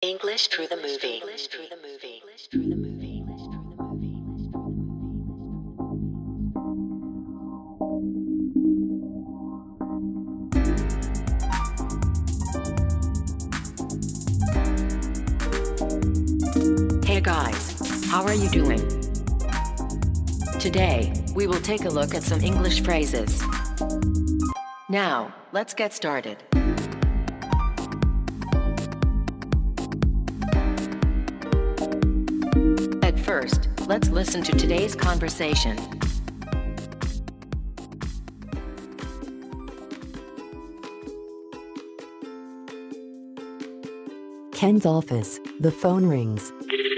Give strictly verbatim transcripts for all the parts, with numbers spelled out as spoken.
English through the movie. English through the movie. English through the movie. English through the movie. Hey guys, how are you doing? Today, we will take a look at some English phrases. Now, let's get started. At first, let's listen to today's conversation. Ken's office. The phone rings.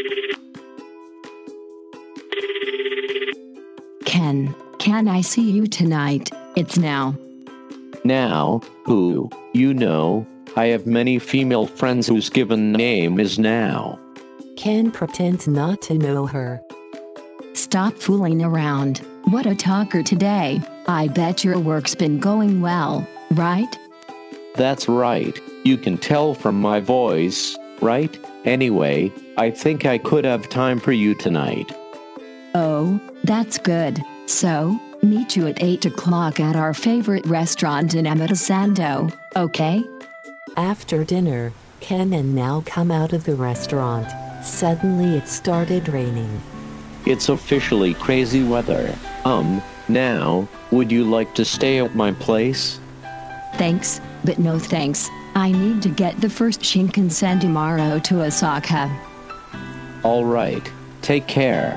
Ken, can I see you tonight? It's now. Now, who, you know, I have many female friends whose given name is Now. Ken pretends not to know her. Stop fooling around. What a talker today. I bet your work's been going well, right? That's right, you can tell from my voice, right? Anyway, I think I could have time for you tonight. Oh, that's good. So, meet you at eight o'clock at our favorite restaurant in Amatisando, okay? After dinner, Ken and Now come out of the restaurant. Suddenly it started raining. It's officially crazy weather. Um, Now, would you like to stay at my place? Thanks, but no thanks. I need to get the first Shinkansen tomorrow to Osaka. All right, take care.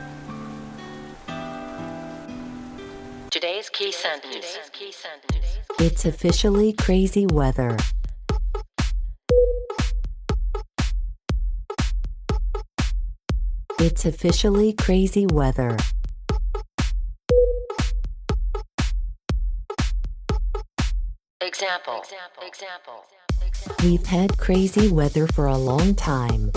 Today's key sentence. Key sentence. It's officially crazy weather. It's officially crazy weather. Example. Example. We've had crazy weather for a long time.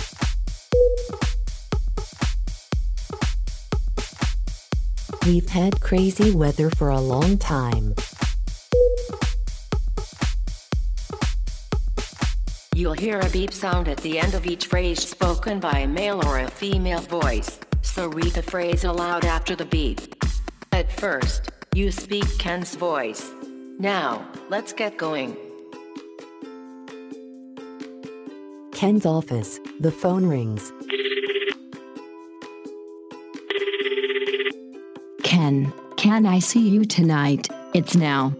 We've had crazy weather for a long time. You'll hear a beep sound at the end of each phrase spoken by a male or a female voice, so read the phrase aloud after the beep. At first, you speak Ken's voice. Now, let's get going. Ken's office. The phone rings. Ken, can I see you tonight? It's now.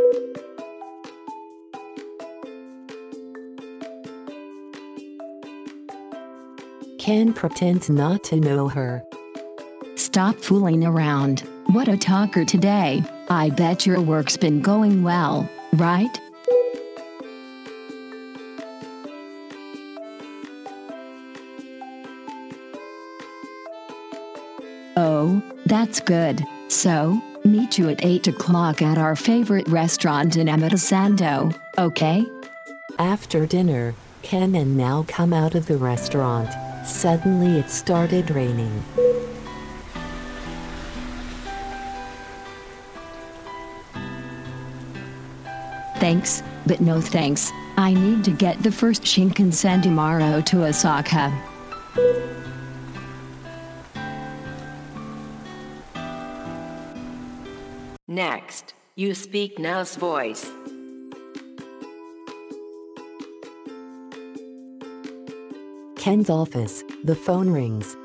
Ken pretends not to know her. Stop fooling around. What a talker today. I bet your work's been going well, right? Oh, that's good. So, meet you at eight o'clock at our favorite restaurant in Amatisando, okay? After dinner, Ken and Now come out of the restaurant. Suddenly it started raining. Thanks, but no thanks. I need to get the first Shinkansen tomorrow to Osaka. Next, you speak Now's voice. Ken's office. The phone rings.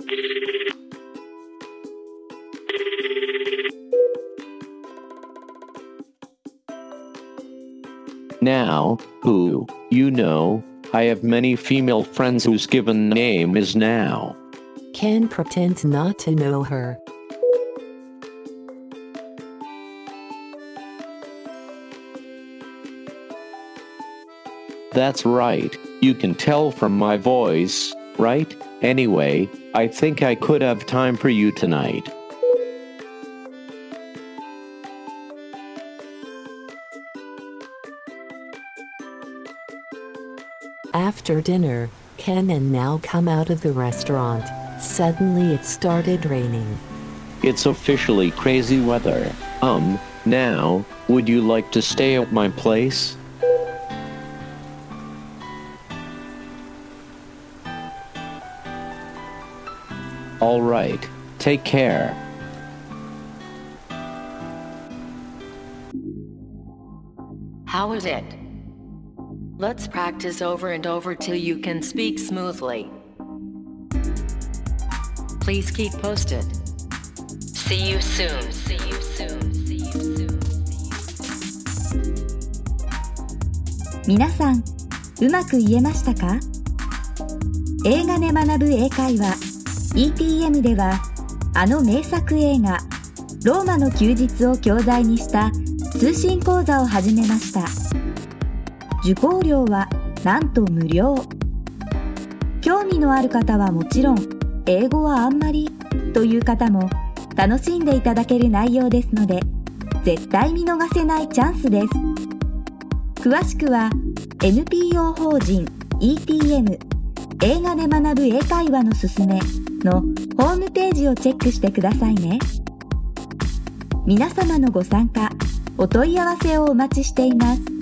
Now, who, you know, I have many female friends whose given name is Now. Ken pretends not to know her. That's right, you can tell from my voice, right? Anyway, I think I could have time for you tonight. After dinner, Ken and Now come out of the restaurant. Suddenly it started raining. It's officially crazy weather. Um, Now, would you like to stay at my place? All right. Take care. How is it? Let's practice over and over till you can speak smoothly. Please keep posted. See you soon. See you soon. See you soon. 皆さん、うまく言えましたか？映画で学ぶ英会話 イーティーエム では、あの名作映画ローマの休日を教材にした通信講座を始めました。受講料はなんと無料。興味のある方はもちろん、英語はあんまりという方も楽しんでいただける内容ですので、絶対見逃せないチャンスです。詳しくは エヌピーオー 法人 イーティーエム 映画で学ぶ英会話のすすめのホームページをチェックしてくださいね。皆様のご参加、お問い合わせをお待ちしています。